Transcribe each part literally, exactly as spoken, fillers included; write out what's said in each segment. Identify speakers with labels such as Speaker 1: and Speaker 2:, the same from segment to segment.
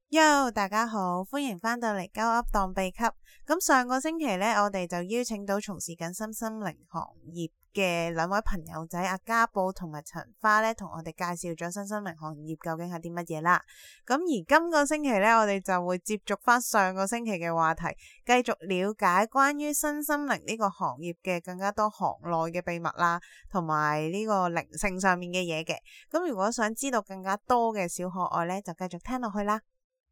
Speaker 1: Yo， 大家好，歡迎返到嚟鳩噏當秘笈。咁上個星期呢，我哋就邀請到從事緊身心靈行業嘅兩位朋友仔阿家寶同埋陳花呢，同我哋介紹咗身心靈行業究竟係啲乜嘢啦。咁而今個星期呢，我哋就會接續返上個星期嘅話題，繼續了解關於身心靈呢個行業嘅更加多行內嘅秘密啦，同埋呢個靈性上面嘅嘢嘅。咁如果想知道更加多嘅小可愛呢，就繼續聽落去啦。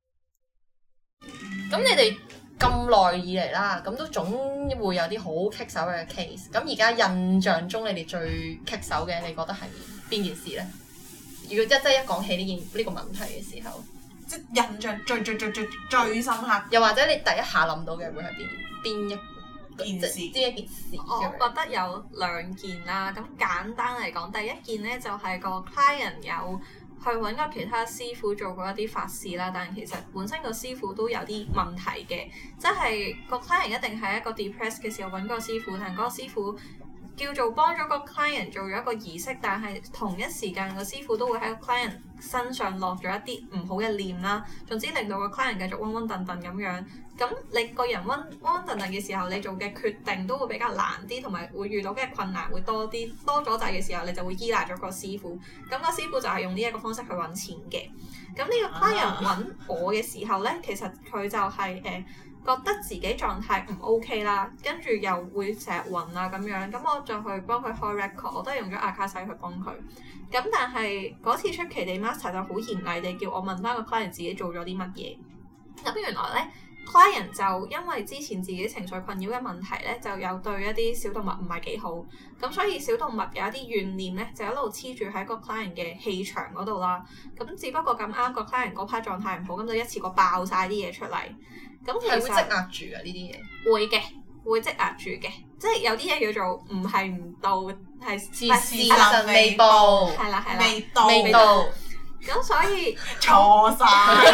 Speaker 2: 咁你哋咁耐以嚟啦，咁都總會有啲好棘手嘅 case。咁而家印象中你哋最棘手嘅，你覺得係邊件事呢？如果即係一講起呢件呢個問題嘅時候，
Speaker 3: 即係印象最最最最最深刻，
Speaker 2: 又或者你第一下諗到嘅會係邊邊一
Speaker 3: 件事？
Speaker 2: 呢一件事？
Speaker 4: 我覺得有兩件啦。咁簡單嚟講，第一件呢就係、是、個 client 有去揾個其他師傅做過一啲法事啦，但係其實本身個師傅都有啲問題嘅，即係個 client 一定係一個 depressed 嘅時候揾個師傅，但係嗰個師傅叫做幫咗個 client 做咗一個儀式，但係同一時間個師傅都會喺個 client 身上落咗一啲唔好嘅念啦，總之令到個 client 繼續暈暈頓頓咁樣。咁你個人暈暈頓頓嘅時候，你做嘅決定都會比較難啲，同埋會遇到嘅困難會多啲，多咗滯嘅時候，你就會依賴咗個師傅。咁個師傅就係用呢一個方式去揾錢嘅。咁呢個 client 揾我嘅時候呢，其實佢就係、是、誒、呃、覺得自己狀態唔 OK 啦，跟住又會成日暈啊咁樣。咁我就去幫佢開 record，我都係用咗阿卡西去幫佢。咁但係嗰次出奇地 master 就好嚴厲地叫我問翻個 client 自己做咗啲乜嘢。咁原來呢 client 就因為之前自己情緒困擾嘅問題咧，就有對一啲小動物唔係幾好，咁所以小動物有一啲怨念咧，就一路黐住喺個 client 嘅氣場嗰度啦。咁只不過咁啱個 client 嗰 part 狀態唔好，咁就一次過爆晒啲嘢出嚟。咁其實
Speaker 2: 係會積壓住啊呢啲嘢。
Speaker 4: 會嘅，會積壓住嘅，即係有啲嘢叫做唔係唔到，係
Speaker 2: 事實未報。
Speaker 4: 係啦係啦，
Speaker 3: 未到
Speaker 2: 未到。
Speaker 4: 咁所以
Speaker 3: 錯晒，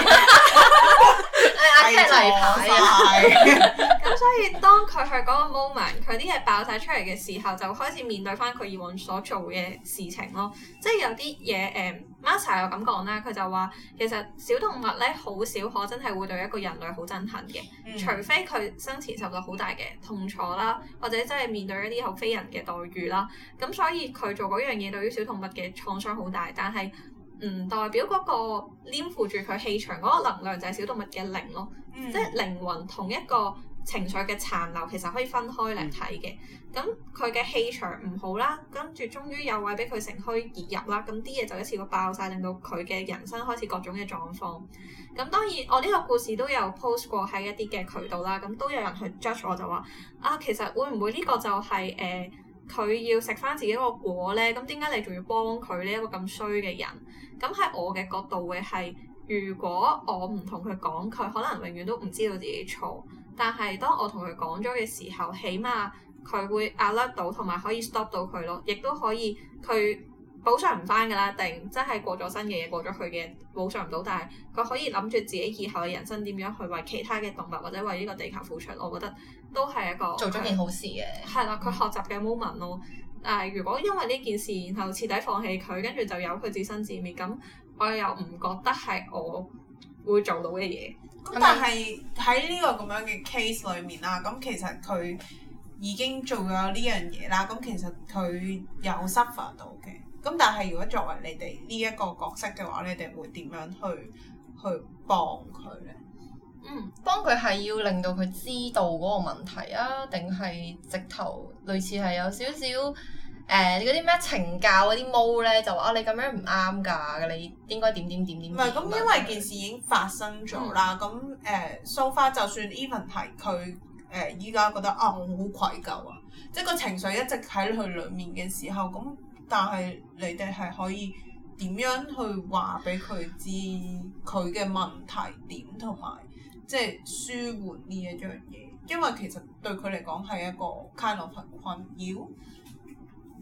Speaker 2: 阿 Cat 例牌啊！
Speaker 4: 咁所以當佢去嗰個 moment，佢啲嘢爆晒出嚟嘅時候，就開始面對翻佢以往所做嘅事情咯。即係有啲嘢誒 Master 又咁講啦，佢就話其實小動物咧好少可真係會對一個人類好憎恨嘅，嗯、除非佢生前受到好大嘅痛楚啦，或者真係面對一啲好非人嘅待遇啦。咁所以佢做嗰樣嘢對於小動物嘅創傷好大，但係唔代表嗰個黏附住佢氣場嗰個能量就係小動物嘅靈咯，嗯、即係靈魂同一個情緒嘅殘留其實可以分開嚟睇嘅。咁佢嘅氣場唔好啦，跟住終於有位俾佢乘虛而入啦，咁啲嘢就一次過爆晒，令到佢嘅人生開始各種嘅狀況。咁當然我呢個故事都有 post 過喺一啲嘅渠道啦，咁都有人去 judge 我就話啊，其實會唔會呢個就係、是、誒？呃佢要食翻自己個果咧，咁點解你仲要幫佢呢一個咁衰嘅人？咁喺我嘅角度會係，如果我唔同佢講，佢可能永遠都唔知道自己錯。但係當我同佢講咗嘅時候，起碼佢會 alert 到，同埋可以 stop 到佢咯，亦都可以佢補償唔翻㗎啦，定真係過咗身嘅嘢過咗去嘅補償唔到，但係佢可以諗住自己以後嘅人生點樣去為其他嘅動物或者為呢個地球付出，我覺得都係一個
Speaker 2: 做咗件好事嘅。
Speaker 4: 係啦，佢學習嘅 moment 咯。但係如果因為呢件事然後徹底放棄佢，跟住就由佢自生自滅，咁我又唔覺得係我會做到嘅嘢。
Speaker 3: 咁但係喺呢個咁樣嘅 case 裏面啦，咁其實佢已經做咗呢樣嘢啦，咁其實佢有 suffer 到嘅。咁但係如果作為你哋呢一個角色嘅話，你哋會點樣去去幫佢咧？
Speaker 2: 嗯，幫佢係要令到佢知道嗰個問題啊，定係直頭類似係有少少誒嗰啲咩懲教嗰啲毛咧，就話啊你咁樣唔啱㗎，你應該點點點點。唔係
Speaker 3: 咁，因為件事已經發生咗啦。咁誒 so far 就算 even 係佢誒依家覺得啊我好愧疚啊，即係個情緒一直喺佢裡面嘅時候，咁但係你哋係可以點樣去話俾佢知佢嘅問題點同埋？即係舒緩呢一樣嘢，因為其實對佢嚟講係一個 kind of 困擾。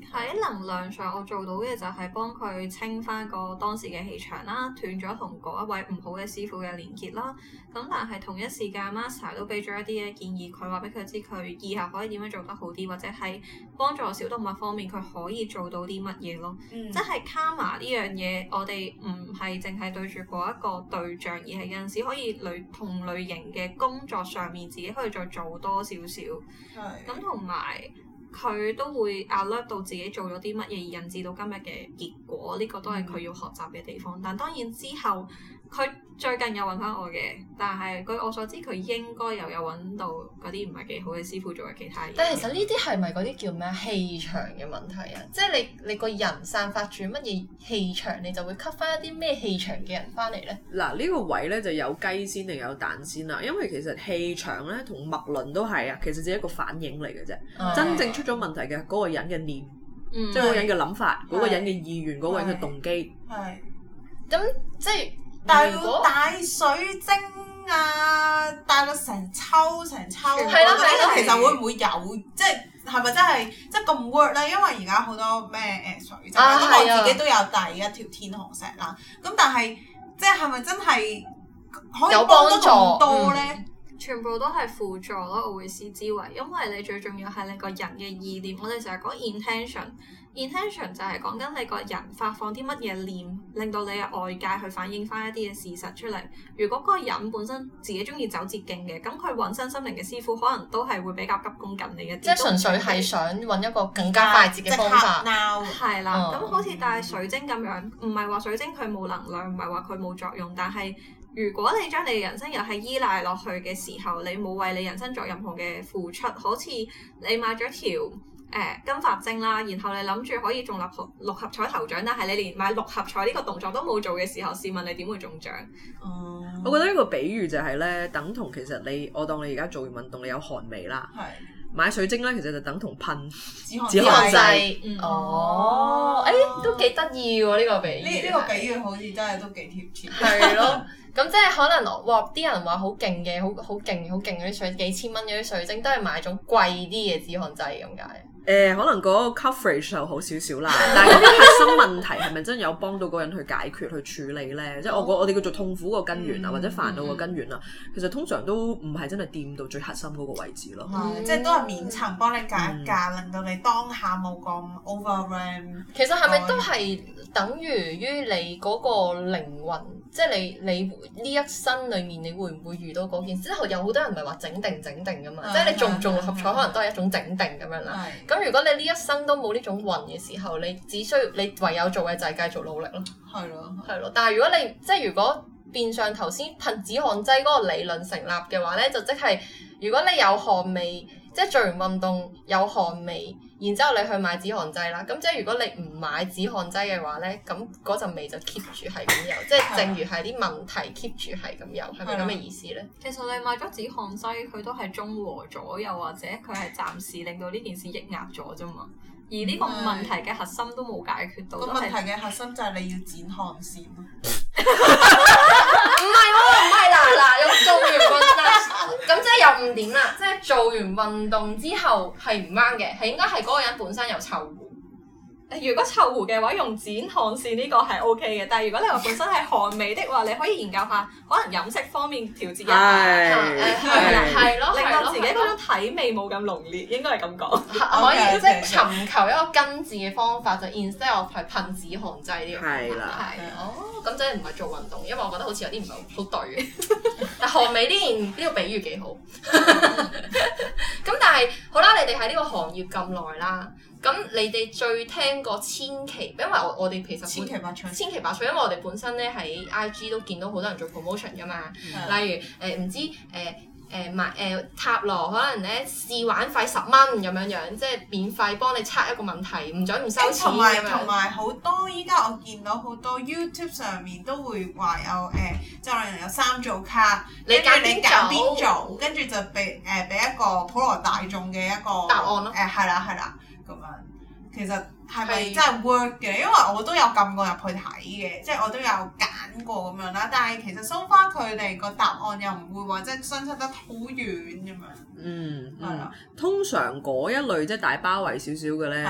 Speaker 4: 喺能量上，我做到嘅就係幫佢清翻個當時嘅氣場啦，斷咗同嗰一位唔好嘅師傅嘅連結啦。咁但係同一時間 Master 都俾咗一啲嘅建議，佢話俾佢知佢以後可以點樣做得好啲，或者係幫助小動物方面佢可以做到啲乜嘢咯。嗯、即係 Karma 呢樣嘢，我哋唔係淨係對住嗰一個對象，而係有陣時可以類同類型嘅工作上面自己可以再做多少少。係。咁同埋。佢都會 alert 到自己做咗啲乜嘢而引致到今日嘅結果，呢、這個都係佢要學習嘅地方。但當然之後佢最近有揾翻我嘅，但係據我所知佢應該又有揾到嗰啲唔係幾好嘅師傅做嘅其他嘢。
Speaker 2: 但係其實呢啲係咪嗰啲叫咩氣場嘅問題啊？即係你你個人散發住乜嘢氣場，你就會吸翻一啲咩氣場嘅人翻嚟咧？
Speaker 5: 嗱，呢個位咧就有雞先定有蛋先啦，因為其實氣場咧同脈輪都係啊，其實只係一個反應嚟嘅啫。嗯、真正出咗問題嘅嗰個人嘅念，嗯、即係嗰個人嘅諗法，嗰、嗯、個人嘅意願，嗰、嗯、個人嘅動機。係。
Speaker 2: 咁即係。
Speaker 3: 但係要帶水晶啊，帶個成抽成抽，係
Speaker 2: 咯係咯，
Speaker 3: 其實會唔會有？即係係咪真係即係咁 work 咧？因為而家好多咩誒水晶，咁、啊、我自己都有帶一條天河石啦。咁但係即係係咪真係可以幫得咁多咧？
Speaker 4: 嗯、全部都係輔助咯，我會視之為，因為你最重要係你個人嘅意念。我哋成日講 intention。intention 就係講緊你個人發放啲乜嘢念，令到你嘅外界去反映翻一啲嘅事實出嚟。如果嗰個人本身自己中意走捷徑嘅，咁佢揾身心靈嘅師傅可能都係會比較急功近利一啲。
Speaker 2: 即係純粹係想揾一個更加快捷嘅方法。
Speaker 4: 係啦，咁、嗯、好似帶水晶咁樣，唔係話水晶佢冇能量，唔係話佢冇作用，但係如果你將你嘅人生又係依賴落去嘅時候，你冇為你人生作任何嘅付出，好似你買咗條誒、呃、金髮晶啦，然後你諗住可以中六合六合彩頭獎，但係你連買六合彩呢個動作都冇做嘅時候，試問你點會中獎？哦、嗯，
Speaker 5: 我覺得呢個比喻就係咧，等同其實你我當你而家做完運動，你有汗味啦，係買水晶咧，其實就等同噴止汗劑。
Speaker 2: 嗯、哦，誒、欸、都幾得意喎呢個比喻。
Speaker 3: 呢呢個比喻好似真係都幾貼切。
Speaker 2: 係咯。咁即係可能哇！啲人話好勁嘅，好好勁好勁嗰啲水，幾千蚊嗰啲水晶，都係買種貴啲嘅止汗劑咁解。
Speaker 5: 誒、呃，可能嗰個 coverage 就好少少啦，但係嗰啲核心問題係咪真係有幫到嗰個人去解決去處理咧？即係我我哋叫做痛苦個根源啊，嗯、或者煩惱個根源啊，嗯、其實通常都唔係真係掂到最核心嗰個位置咯。
Speaker 3: 嗯嗯、即係都係面層幫你隔一隔，嗯、令到你當下冇咁 overwhelm。
Speaker 2: 其實係咪都係等於於你嗰個靈魂？即係你你呢一生裡面，你會唔會遇到嗰件事？之後有好多人唔係話整定整定噶嘛，嗯、即係你中唔中六合彩可能都係一種整定咁樣啦。咁、嗯、如果你呢一生都冇呢種運嘅時候，你只需要你唯有做嘅就係繼續努力咯。係咯，係咯。但係如果你即係如果變相頭先噴止汗劑嗰個理論成立嘅話咧，就即係如果你有汗味，即係做完運動有汗味。然之後你去買止汗劑啦，咁即係如果你唔買止汗劑嘅話咧，咁嗰陣味就 keep 住係咁有，即係正如係啲問題 keep 住係咁有，係咪咁嘅意思咧？
Speaker 4: 其實你買咗止汗劑，佢都係中和咗，又或者佢係暫時令到呢件事抑壓咗啫嘛。而呢個問題嘅核心都冇解決到。
Speaker 3: 個問題嘅核心就係你要剪汗腺咯。
Speaker 2: 唔係喎，唔係嗱嗱，用做完運動，咁即係有誤點啦。即係做完運動之後係唔啱嘅，係應該係嗰個人本身有臭狐。
Speaker 4: 如果臭狐嘅話，用剪汗腺呢個係 O K 嘅，但係如果你話本身係汗味的話，你可以研究下，可能飲食方面調節一下，係啦，係咯，令到自己嗰種體味冇咁濃烈，應該係咁講。
Speaker 2: 可以即係尋求一個根治嘅方法，就 instead of 係噴止汗劑呢個方法。係啦，哦，咁即係唔係做運動，因為我覺得好似有啲唔係好對。但汗味呢件呢個比喻幾好。咁但係好啦，你哋喺呢個行業咁耐啦。咁你哋最聽過千奇，因為我我哋其實
Speaker 3: 千奇百趣，
Speaker 2: 千奇百趣，因為我哋本身咧喺 I G 都見到好多人做 promotion 噶嘛，嗯、例如誒唔、呃、知誒誒買誒塔羅，可能咧試玩費十蚊咁樣樣，即係免費幫你測一個問題，唔準唔收錢。
Speaker 3: 同埋同埋好多依家我見到好多 YouTube 上面都會話有誒，即係可能有三組卡，你揀你揀邊組，跟住就俾誒俾一個普羅大眾嘅一個
Speaker 2: 答案咯。
Speaker 3: 誒係啦係啦。咁樣，其實係咪真係 work 嘅？因為我都有撳過入去睇嘅，即係我都有揀過咁樣啦。但係其實 so far 佢哋個答案又唔會話即係相差得好遠咁樣。
Speaker 5: 嗯，係啦。通常嗰一類即係大包圍少少嘅咧，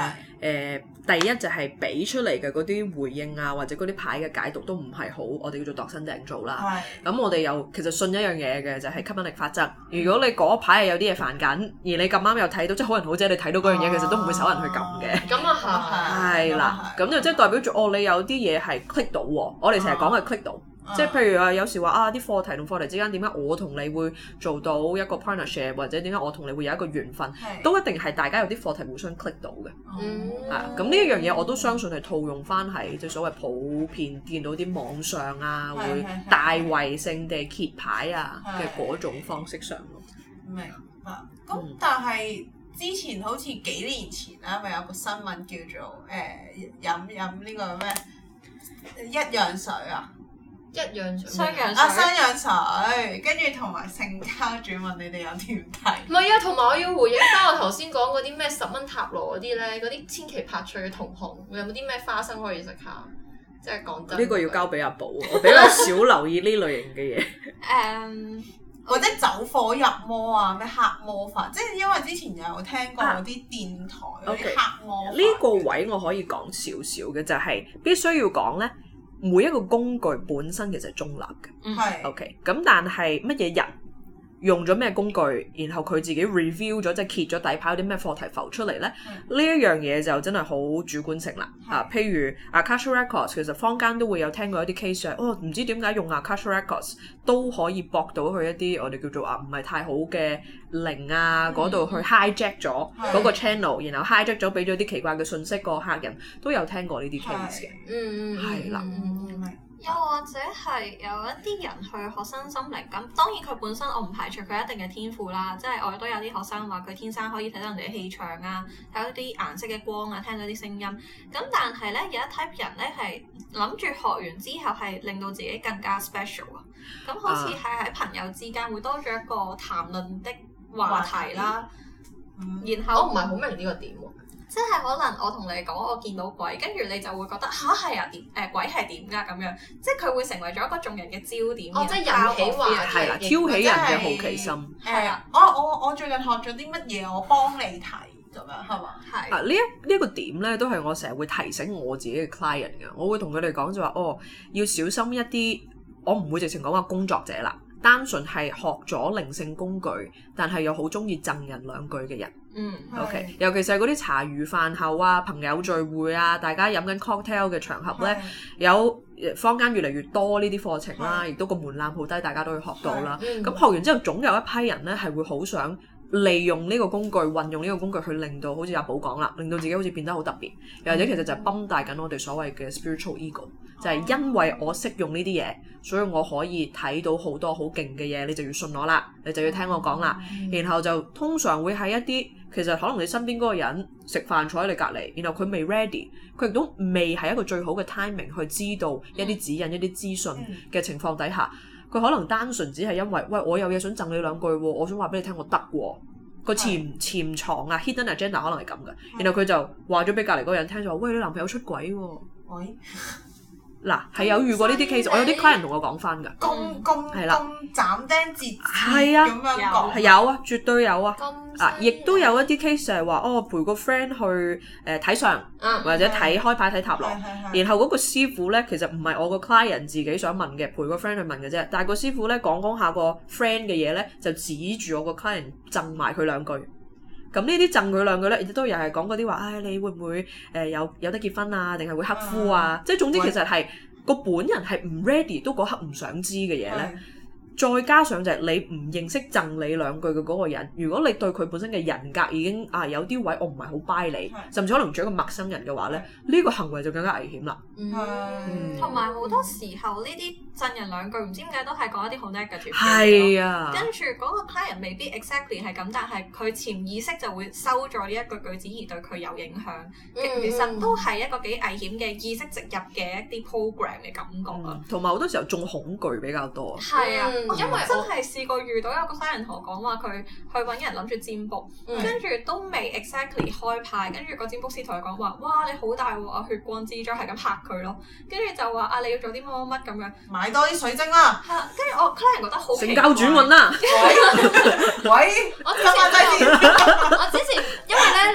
Speaker 5: 呃、第一就係俾出嚟嘅嗰啲回應啊，或者嗰啲牌嘅解讀都唔係好，我哋叫做度身訂造啦。咁我哋又其實信一樣嘢嘅就係、是、吸引力法則。如果你嗰排係有啲嘢煩緊，而你咁啱又睇到，即係好人好姐你睇到嗰樣嘢，其實都唔會手人去撳嘅。
Speaker 2: 咁啊係。
Speaker 5: 係啦，咁就即係代表住哦，你有啲嘢係 click 到喎。我哋成日講係 click 到。即係譬如話，有時話啊，啲課題同課題之間點解我同你會做到一個 partnership， 或者點解我同你會有一個緣分，都一定係大家有啲課題互相 click 到嘅。
Speaker 2: 嗯，
Speaker 5: 係咁呢一樣嘢我都相信係套用翻係即係所謂普遍見到啲網上啊，會大圍性地揭牌啊嘅嗰種方式上咯。
Speaker 3: 明白。咁、嗯、但係之前好似幾年前啦，咪有個新聞叫做誒飲飲呢個咩一樣水啊？
Speaker 2: 一樣
Speaker 4: 雙氧水
Speaker 3: 啊，雙氧水，跟住同埋性交轉運，你哋有點睇？
Speaker 2: 唔係啊，同埋我要回應翻我頭先講嗰啲咩十蚊塔羅嗰啲咧，嗰啲千奇百趣嘅同行，有冇啲咩花生可以食下？即係講真，
Speaker 5: 呢個要交俾阿寶，我比較少留意呢類型嘅嘢。
Speaker 4: 誒，um,
Speaker 3: 或者走火入魔啊，咩黑魔法，即係因為之前有聽過嗰啲電台嗰啲黑魔法。
Speaker 5: 呢、okay. 個位我可以講少少嘅，就係、是、必須要講咧。每一個工具本身其實係中立嘅，
Speaker 3: 係
Speaker 5: OK。咁但係乜嘢人用咗咩工具，然後佢自己 review 咗，即係揭咗底牌，有啲咩課題浮出嚟咧？呢一樣嘢就真係好主觀性啦。啊，譬如 Akasha Records，其實坊間都會有聽過一啲 case 係，哦，唔知點解用 Akasha Records 都可以駁到去一啲我哋叫做啊唔係太好嘅靈啊嗰度去 hijack 咗嗰個 channel， 然後 hijack 咗俾咗啲奇怪嘅信息，個客人都有聽過呢啲 case 嘅。
Speaker 2: 嗯嗯，
Speaker 5: 係啦。
Speaker 4: 又或者係有一啲人去學身心靈，咁當然佢本身我唔排除佢一定嘅天賦啦，即係我都有啲學生話佢天生可以睇到人哋嘅氣場啊，睇到啲顏色嘅光啊，聽到啲聲音。咁但係咧有一 type 人咧係諗住學完之後係令到自己更加 special 啊，咁好似係喺朋友之間會多咗一個談論的話題啦。
Speaker 3: 嗯、
Speaker 4: 然後
Speaker 2: 我唔係好明呢個點喎。
Speaker 4: 即係可能我同你講我見到鬼，跟住你就會覺得吓係啊點誒、呃、鬼係點㗎咁樣，即係佢會成為咗一個眾人嘅焦點。
Speaker 2: 哦，即係引起話題，
Speaker 5: 係啦，挑起人嘅好奇心。
Speaker 3: 係啊，我我我最近學咗啲乜嘢，我幫你睇咁樣係嘛？係。
Speaker 5: 啊，呢一呢一個點咧，都係我成日會提醒我自己嘅 client 嘅。我會同佢哋講就話，哦，要小心一啲。我唔會直情講話工作者啦，單純係學咗靈性工具，但係又好中意贈人兩句嘅人。
Speaker 4: 嗯
Speaker 5: ，OK，尤其是係嗰啲茶餘飯後啊、朋友聚會啊、大家飲緊 cocktail 嘅場合咧，有坊間越嚟越多呢啲課程啦，亦都個門檻好低，大家都可以學到啦。咁、嗯、學完之後，總有一批人咧係會好想利用呢個工具，運用呢個工具去令到好似阿寶講啦，令到自己好似變得好特別，又或者其實就係崩大緊我哋所謂嘅 spiritual ego，就係因為我識用呢啲嘢，所以我可以睇到好多好勁嘅嘢，你就要信我啦，你就要聽我講啦。然後就通常會喺一啲其實可能你身邊嗰個人食飯坐喺你隔離，然後佢未 ready， 佢亦都未係一個最好嘅 timing 去知道一啲指引、一啲資訊嘅情況底下。佢可能單純只係因為，喂，我有嘢想贈你兩句喎，我想話俾你聽，我得喎。個潛潛藏啊 hidden agenda 可能係咁嘅，然後佢就話咗俾隔離嗰個人聽，就話：喂，你男朋友出軌喎。喂，嗱係有遇過呢啲 case，我有啲 client 同我講翻㗎。
Speaker 3: 咁咁
Speaker 5: 係啦，
Speaker 3: 咁斬釘截鐵
Speaker 5: 係啊，
Speaker 3: 咁樣講
Speaker 5: 係有啊，絕對有啊。啊，亦都有一啲 case 係話，哦，陪個 friend 去誒睇、呃、相，嗯、或者睇開牌睇塔羅，然後嗰個師傅咧，其實唔係我個 client 自己想問嘅，陪個 friend 去問嘅啫。但係個師傅咧講講下個 friend 嘅嘢咧，就指住我個 client 贈埋佢兩句。咁呢啲贈佢兩句咧，亦都又係講嗰啲話，唉、哎，你會唔會誒、呃、有有得結婚啊？定係會克夫啊？嗯、即係總之其實係個本人係唔 ready，都嗰刻唔想知嘅嘢咧。再加上就係你唔認識贈你兩句嘅嗰個人，如果你對佢本身嘅人格已經啊有啲位我唔係好 buy 你，甚至可能做一個陌生人嘅話咧，呢、呢個行為就更加危險啦。
Speaker 4: 嗯，同埋好多時候呢啲贈人兩句唔知點解都係講一啲好 negative 嘅嘢。
Speaker 5: 係啊，
Speaker 4: 跟住嗰個 client 未必 exactly 係咁，但係佢潛意識就會收咗呢一句句子而對佢有影響。嗯、其實都係一個幾危險嘅意識植入嘅一啲 program 嘅感覺啊。同埋好多時候中恐懼比較多。係啊。嗯、因為真係試過遇到有個客人同我講話，佢去揾人諗住占卜，跟住、嗯、都未 exactly 開牌，跟住個占卜師同佢講話：哇，你好大鑊啊，血光之災，係咁嚇佢咯。跟住就話啊，你要做啲乜乜乜咁樣，
Speaker 3: 買多啲水晶啦。係，跟住我客人覺得好
Speaker 5: 成交轉運啦。
Speaker 3: 喂，喂，
Speaker 2: 我之前我之前因為咧，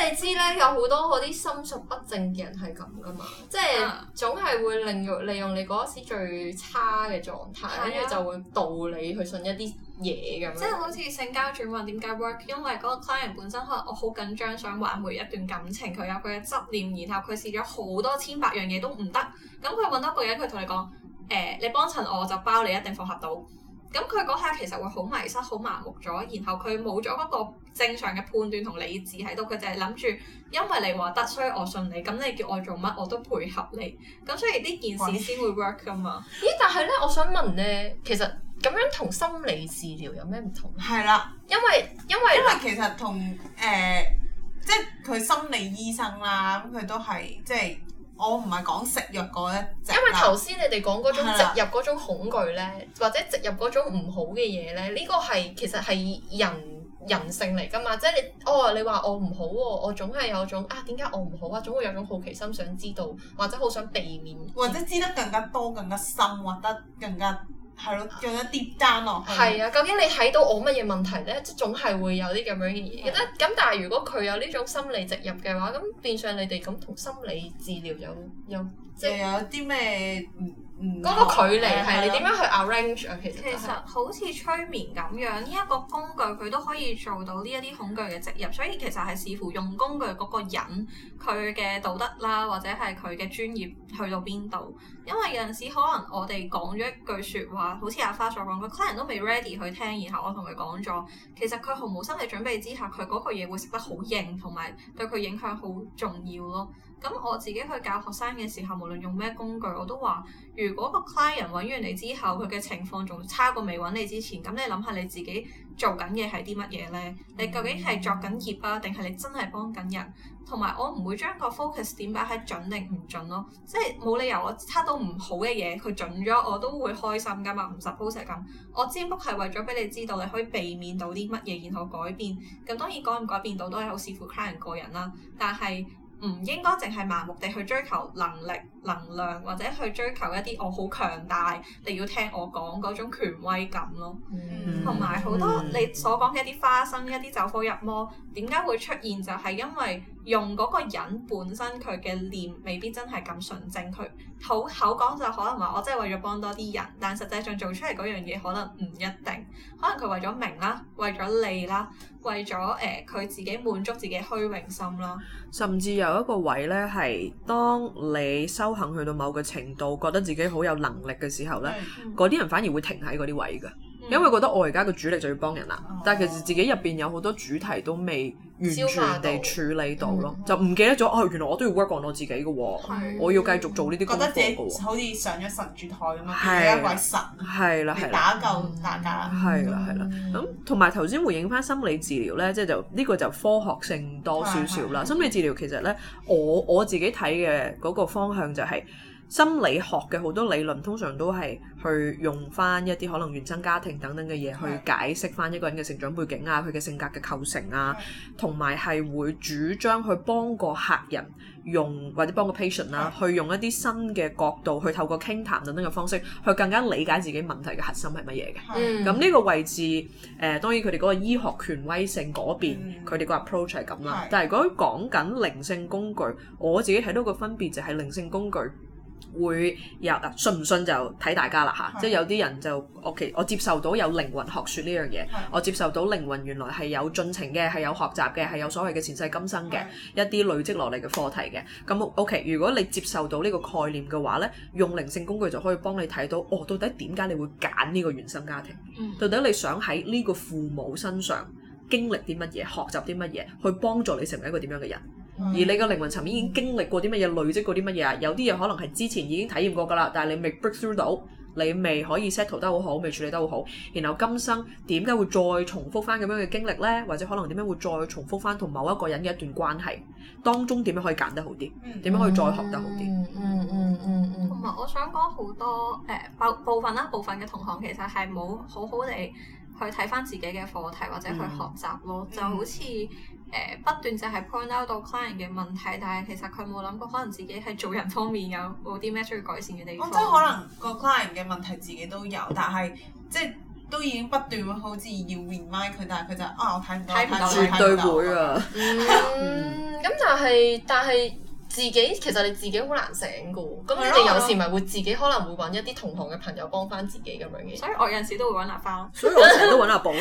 Speaker 2: 你知咧，有好多嗰啲心術不正嘅人係咁噶嘛，即係總係會利用利用你嗰時最差嘅狀態，跟住、啊、就會導你去信一啲嘢咁樣。
Speaker 4: 即係好似性交轉運點解 work？因為嗰個 client 本身可能我好緊張，想挽回一段感情，佢有佢嘅執念，然後佢試咗好多千百樣嘢都唔得，咁佢揾到一個人，佢同你講。誒、呃，你幫襯我就包你一定復合到，咁佢嗰下其實會好迷失、好麻木咗，然後佢冇咗嗰個正常嘅判斷同理智喺度，佢就係諗住，因為你話得，所以我信你，咁你叫我做乜我都配合你，咁所以呢件事先會 work 噶嘛。
Speaker 2: 咦？但係咧，我想問咧，其實咁樣同心理治療有咩唔同？
Speaker 3: 係啦，
Speaker 2: 因為因為
Speaker 3: 因為其實同誒、呃，即係佢心理醫生啦，咁佢都係即係。我唔係講食藥嗰一隻，
Speaker 2: 因為頭先你哋講嗰種植入嗰種恐懼咧，或者植入嗰種唔好嘅嘢咧，呢個係其實係人人性嚟噶嘛，即係你哦，你話我唔好喎，我總係有種啊點解我唔好啊，總會有種好奇心想知道，或者好想避免，
Speaker 3: 或者知得更加多、更加深，或者更加。係咯，仲有啲單落去。
Speaker 2: 係啊，究竟你睇到我乜嘢問題咧？即係總係會有啲咁樣嘅嘢。覺得咁，但係如果佢有呢種心理植入嘅話，咁變相你哋咁同心理治療有有即係
Speaker 3: 有啲咩唔唔
Speaker 2: 嗰個距離係你點樣去 arrange 啊？其實
Speaker 4: 其實好似催眠咁樣，呢一個工具佢都可以做到呢一啲恐懼嘅植入，所以其實係視乎用工具嗰個人佢嘅道德啦，或者係佢嘅專業去到邊度。因為有陣時可能我哋講咗一句説話，好似阿花所講，個 client 都未 ready 去聽，然後我同佢講咗，其實佢毫無心理準備之下，佢嗰個嘢會食得好硬，同埋對佢影響好重要咯。咁我自己去教學生嘅時候，無論用咩工具，我都話：如果個 client 揾完你之後，佢嘅情況仲差過未揾你之前，咁你諗下你自己做緊嘢係啲乜嘢呢？你究竟係作緊業啊，定係你真係幫緊人？同埋我唔會將個 focus 點擺喺準定唔準咯，即係冇理由我測到唔好嘅嘢，佢準咗我都會開心噶嘛，唔 suppose 係咁。我占卜係為咗俾你知道你可以避免到啲乜嘢，然後改變。咁當然改唔改變到都係好視乎 client 個人啦，但係唔應該淨係盲目地去追求能力、能量，或者去追求一啲我好強大，你要聽我講嗰種權威感咯。同埋好多你所講嘅一啲花生、一啲走火入魔，點解會出現？就係因為用嗰個人本身佢嘅念未必真係咁純正，佢口口講就可能話我真係為咗幫多啲人，但實際上做出嚟嗰樣嘢可能唔一定，可能佢為咗名啦，為咗利啦，為咗誒佢自己滿足自己虛榮心啦，
Speaker 5: 甚至有一個位咧係當你修行去到某個程度，覺得自己好有能力嘅時候咧，嗰啲、嗯、人反而會停喺嗰啲位㗎。因為覺得我而家個主力就要幫人啦，哦、但係其實自己入邊有好多主題都未完全地處理到咯，嗯、就唔記得咗哦，原來我都要 work on 我自己嘅喎，
Speaker 3: 嗯、
Speaker 5: 我要繼續做呢啲工作嘅
Speaker 3: 喎，好似上咗神主台咁樣，變咗一位神，
Speaker 5: 係啦係啦，
Speaker 3: 打救大家，
Speaker 5: 係啦係啦。咁同埋頭先回應翻心理治療咧，即係就呢個就科學性多少少啦。心理治療其實咧，我我自己睇嘅嗰個方向就係、是。心理學嘅好多理論通常都係去用翻一啲可能原生家庭等等嘅嘢去解釋翻一個人嘅成長背景啊，佢嘅性格嘅構成啊，同埋係會主張去幫個客人用或者幫個 patient 啦，去用一啲新嘅角度去透過傾談等等嘅方式去更加理解自己問題嘅核心係乜嘢嘅。咁呢、嗯、個位置誒、呃、當然佢哋嗰個醫學權威性嗰邊佢哋個 approach 係咁啦。但係如果講緊靈性工具，我自己睇到個分別就係靈性工具會有啊，信唔信就睇大家啦嚇，的即係有啲人就 OK，我接受到有靈魂學説呢樣嘢，的我接受到靈魂原來係有進程嘅，係有學習嘅，係有所謂嘅前世今生嘅的一啲累積落嚟嘅課題嘅。咁 OK，如果你接受到呢個概念嘅話呢，用靈性工具就可以幫你睇到，哦，到底點解你會揀呢個原生家庭？嗯、到底你想喺呢個父母身上經歷啲乜嘢，學習啲乜嘢，去幫助你成為一個點樣嘅人？而你個靈魂層面已經經歷過啲乜嘢，累積過啲乜嘢啊？有啲嘢可能係之前已經體驗過㗎啦，但係你未 break through 到，你未可以 settle 得好好，未處理得好好。然後今生點解會再重複翻咁樣嘅經歷呢？或者可能點樣會再重複翻同某一個人嘅一段關係當中點樣可以揀得好啲？點樣可以再學得好啲？
Speaker 2: 嗯嗯嗯嗯嗯。
Speaker 4: 同埋我想講好多誒部部分啦，部分嘅同行其實係冇好好地去睇翻自己嘅課題或者去學習咯，嗯、就好似誒、呃、不斷就係 point out 到 client 嘅問題，但係其實佢冇諗過可能自己喺做人方面有冇啲咩需要改善嘅地方。
Speaker 3: 即係可能個 client 嘅問題自己都有，但係即係都已經不斷好似要 remind 佢，但係佢就啊我睇唔到，
Speaker 4: 睇唔到
Speaker 5: 絕對會啊！
Speaker 2: 嗯，咁但係但係自己其實你自己好難醒噶喎，咁你哋有時咪會自己可能會揾一啲同行嘅朋友幫翻自己咁樣嘅。
Speaker 4: 所以我有陣時都會揾阿花咯。
Speaker 5: 所以我成日都揾阿寶咯。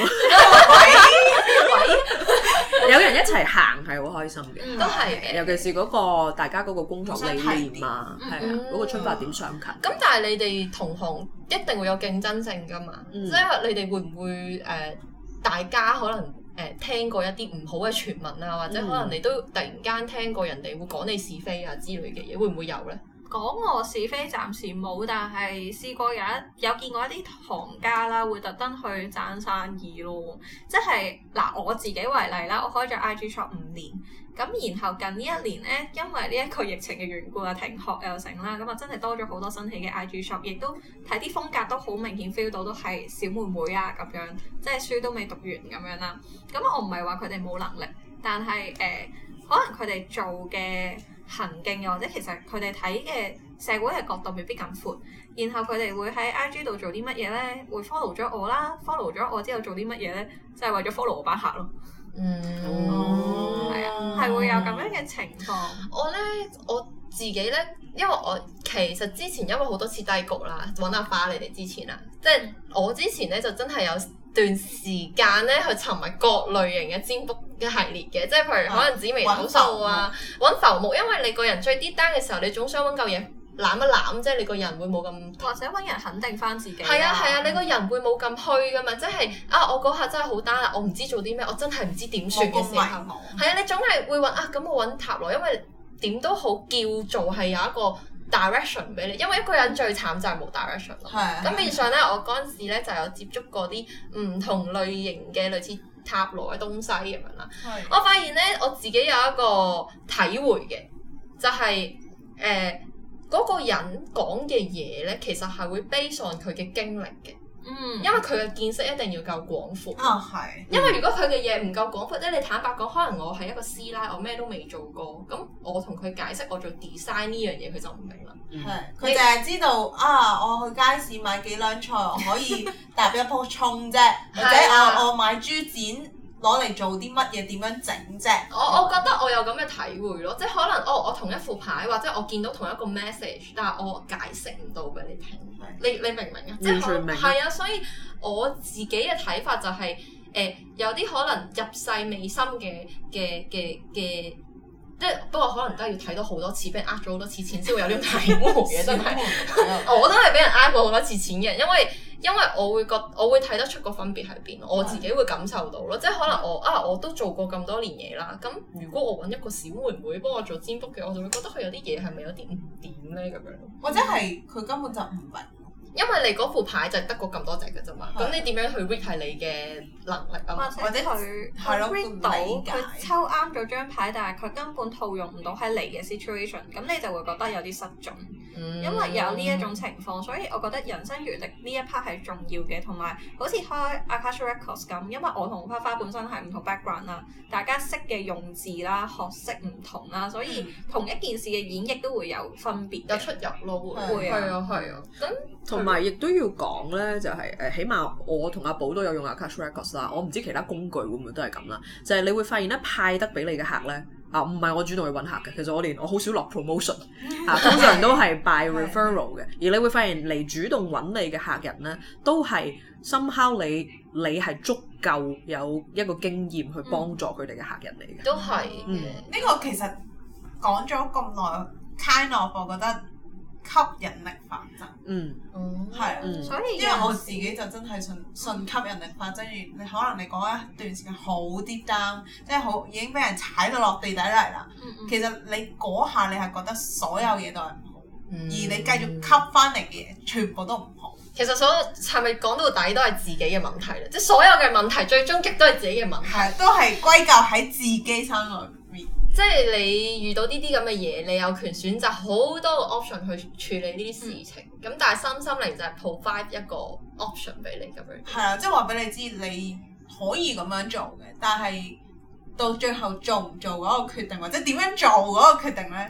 Speaker 5: 有人一齊行係好開心嘅，
Speaker 2: 都係嘅。
Speaker 5: 尤其是嗰個大家嗰個工作理念啊，係啊，嗰個出發點相近。
Speaker 2: 咁但係你哋同行一定會有競爭性噶嘛？即係你哋會唔會誒大家可能誒聽過一啲唔好嘅傳聞啊，或者可能你都突然間聽過人哋會講你是非啊之類嘅嘢，會唔會有咧？
Speaker 4: 講我是非暫時冇，但係試過有一有見過一啲行家啦，會特登去爭生意咯。即係嗱，我自己為例啦，我開咗 I G shop 五年，咁然後近呢一年咧，因為呢一個疫情嘅緣故啊，停學又成啦，咁啊真係多咗好多新起嘅 I G shop， 亦都睇啲風格都好明顯 feel 到都係小妹妹啊咁樣，即係書都未讀完咁樣啦。咁我唔係話佢哋冇能力，但係誒、呃、可能佢哋做嘅行徑又或者其實佢哋睇嘅社會嘅角度未必咁闊，然後佢哋會喺 I G 度做啲乜嘢咧？會 follow 咗我啦 ，follow 咗我之後做啲乜嘢咧？就係、是、為咗 follow 我班客咯。
Speaker 2: 嗯，
Speaker 4: 係啊，係會有咁樣嘅情況。
Speaker 2: 我咧我自己咧，因為我其實之前因為好多次低谷啦，揾阿花你哋之前啦，即係我之前咧就真係有段時間咧去尋覓各類型嘅占卜嘅系列嘅，即係譬如可能紫微斗數啊，揾浮木，因為你個人最低單嘅時候，你總想揾嚿嘢攬一攬，即係你個人會冇咁，
Speaker 4: 或者揾人肯定翻自己。
Speaker 2: 係啊係啊，你個人會冇咁虛噶嘛，即係啊我嗰下真係好單啦，我唔知做啲咩，我真係唔知點算嘅時候，係啊，你總係會揾啊咁我揾塔羅，因為點都好叫做係有一個 direction 俾你，因為一個人最慘就係冇 direction 咯。咁變相咧，我嗰陣時咧就有接觸過啲唔同類型嘅類似塔羅嘅東西咁樣啦。我發現咧，我自己有一個體會嘅，就係誒嗰個人講嘅嘢咧，其實係會 base on佢嘅經歷嘅。嗯，因為佢嘅見識一定要夠廣闊。啊、哦，係。因為如果佢嘅嘢唔夠廣闊咧，你坦白講，可能我係一個師奶，我咩都未做過，咁我同佢解釋我做 design 呢樣嘢，佢就唔明啦。
Speaker 3: 係，佢淨係知道啊，我去街市買幾兩菜，我可以搭一樖葱啫，或者我我買豬展攞嚟做啲乜嘢，點樣整啫？
Speaker 2: 我我覺得我有咁嘅體會咯，即係可能哦，我同一副牌或者我見到同一個 message，但係我解釋唔到俾你聽。你你明唔明啊？
Speaker 5: 完全明。
Speaker 2: 係啊，所以我自己嘅睇法就係、是、誒、呃，有啲可能入世未深嘅嘅嘅嘅，即係不過可能都係要睇到好多次，俾人呃咗好多次錢先會有啲體會嘅，真係。我都係俾人呃過好多次錢嘅，因為因為我會覺我會睇得出個分別喺邊，我自己會感受到咯。即係可能我啊，我都做過咁多年嘢啦，咁如果我揾一個小妹妹幫我做占卜嘅，我就會覺得佢有啲嘢係咪有啲唔掂咧咁樣。
Speaker 3: 或者係佢根本就唔明。
Speaker 2: 因為你嗰副牌就係得過咁多隻嘅啫嘛，咁你點樣去 read 係你嘅能力啊嘛，
Speaker 4: 或者佢佢 read 到佢抽啱咗張牌，但係佢根本套用唔到喺你嘅 situation，咁你就會覺得有啲失準，嗯、因為有呢一種情況，所以我覺得人生閲歷呢一 part 係重要嘅，同埋好似開 Akasha Records 咁，因為我同花花本身係唔同 background 啦，大家識嘅用字啦、學識唔同啦，所以同一件事嘅演繹都會有分別，
Speaker 2: 有出入咯，會
Speaker 4: 會
Speaker 2: 係啊係啊，咁
Speaker 5: 同埋亦都要講咧，就係、是、誒，起碼我同阿寶都有用 Akasha Records 啦，我唔知其他工具會唔會都係咁啦，就係、是、你會發現咧，派得俾你嘅客咧。啊，唔係我主動去揾客嘅，其實我連我好少落 promotion， 啊，通常都係 by referral 嘅。而你會發現嚟主動揾你嘅客人咧，都係 somehow 你你係足夠有一個經驗去幫助佢哋嘅客人嚟嘅。
Speaker 2: 都係嘅。
Speaker 3: 嗯，呢個其實講咗咁耐 kind of 我覺得吸引力法則。嗯，係啊，
Speaker 4: 嗯、所以
Speaker 3: 因為我自己就真係信信吸引力法則。你可能你講一段時間好 deep down，即係好已經俾人踩到落地底嚟啦。嗯嗯、其實你嗰下你係覺得所有嘢都係唔好，嗯、而你繼續吸翻嚟嘅嘢全部都唔好。
Speaker 2: 其實所有係咪講到底都係自己嘅問題咧？即係所有嘅問題最終極都係自己嘅問題，
Speaker 3: 係都係歸咎喺自己身上面。
Speaker 2: 即係你遇到呢啲咁嘅嘢，你有權選擇好多個 option 去處理呢啲事情。咁、嗯、但係身心靈就係 provide 一個 option 俾你咁樣。
Speaker 3: 係啊，即係話俾你知，你可以咁樣做嘅，但係到最後做唔做嗰個決定，或者點樣做嗰個決定咧，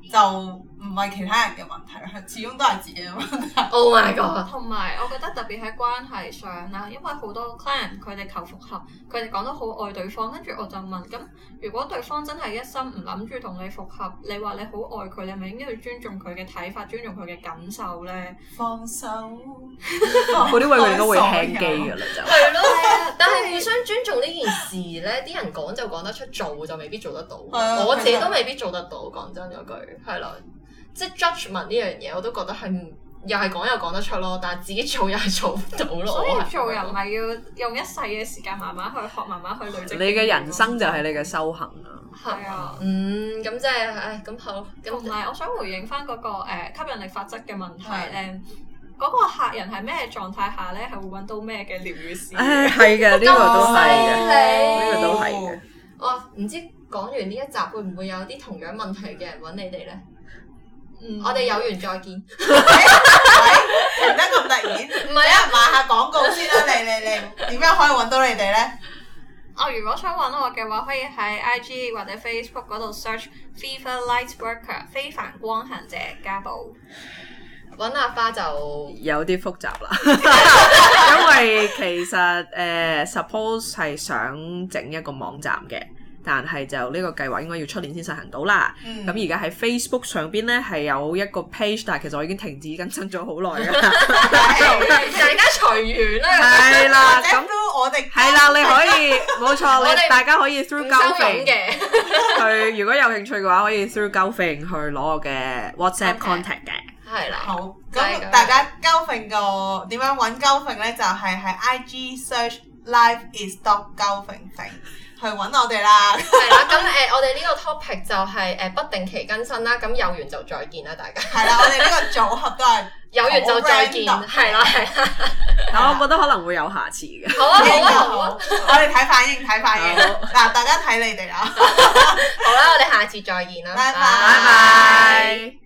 Speaker 3: 就唔係其他人嘅問題，係始終都係自己嘅問題。
Speaker 2: Oh my god！
Speaker 4: 同埋我覺得特別喺關係上啦，因為好多 client 佢哋求復合，佢哋講得好愛對方，跟住我就問：咁如果對方真係一心唔諗住同你復合，你話你好愛佢，你係咪應該要尊重佢嘅睇法，尊重佢嘅感受咧？
Speaker 3: 放手，
Speaker 5: 嗰啲位佢哋都會輕機㗎啦，就
Speaker 2: 係咯。但係互相尊重呢件事咧，啲人講就講得出，做就未必做得到。我自己都未必做得到，講真嗰句係啦。即係 judgement 呢樣嘢，我都覺得係又係講又講得出咯，但係自己做又係做唔到咯。
Speaker 4: 所以做人咪要用一世嘅時間慢慢去學，慢慢去累積。
Speaker 5: 你嘅人生就係你嘅修行啊！
Speaker 4: 係啊，
Speaker 2: 嗯，咁即係，唉，咁好。
Speaker 4: 同埋我想回應翻嗰個誒吸引力法則嘅問題咧，嗰個客人係咩狀態下咧係會揾到咩嘅療愈師？
Speaker 5: 唉，係嘅，呢個都係嘅，呢個都係嘅。
Speaker 2: 哇，唔知講完呢一集會唔會有啲同樣問題嘅人揾你哋咧？
Speaker 4: 嗯，
Speaker 2: 我哋有緣再見。
Speaker 3: 停得咁突然，
Speaker 2: 唔係啊，
Speaker 3: 賣下廣告先啦，嚟嚟嚟，點樣可以揾到你哋咧？
Speaker 4: 哦，如果想揾我嘅話，可以喺 I G 或者 Facebook 嗰度 search Fever Lightworker 非凡光行者家寶。
Speaker 2: 揾阿花就
Speaker 5: 有啲複雜啦，因為其實誒、呃、suppose 係想整一個網站嘅。但係就呢個計劃應該要出年先實行到啦。咁而家喺 Facebook 上邊咧係有一個 page， 但係其實我已經停止更新咗好耐㗎啦。
Speaker 2: 大家隨緣啦。
Speaker 5: 係啦，咁
Speaker 3: 都我哋
Speaker 5: 係啦，你可以冇錯，你大家可以 through
Speaker 2: 交
Speaker 5: Golfing
Speaker 2: 嘅
Speaker 5: 去，如果有興趣嘅話，可以 through Golfing 去攞我嘅 WhatsApp contact 嘅。
Speaker 2: 係啦。
Speaker 3: 好，咁大家 Golfing 個點樣揾 Golfing 咧？就係喺 I G search life is dot golfing 去揾我哋啦。
Speaker 2: 係啦，咁誒、呃，我哋呢個 topic 就係、是、誒、呃、不定期更新啦。咁有緣就再見啦，大家。係
Speaker 3: 啦，我哋呢個組合都係
Speaker 2: 有緣就再見，係啦係啦。
Speaker 5: 但我覺得可能會有下次嘅。
Speaker 2: 好啊好啊好啊！
Speaker 3: 我哋睇反應睇反應。嗱，大家睇你哋啦。
Speaker 2: 好啦，我哋下次再見啦，
Speaker 3: 拜拜。
Speaker 2: 拜拜。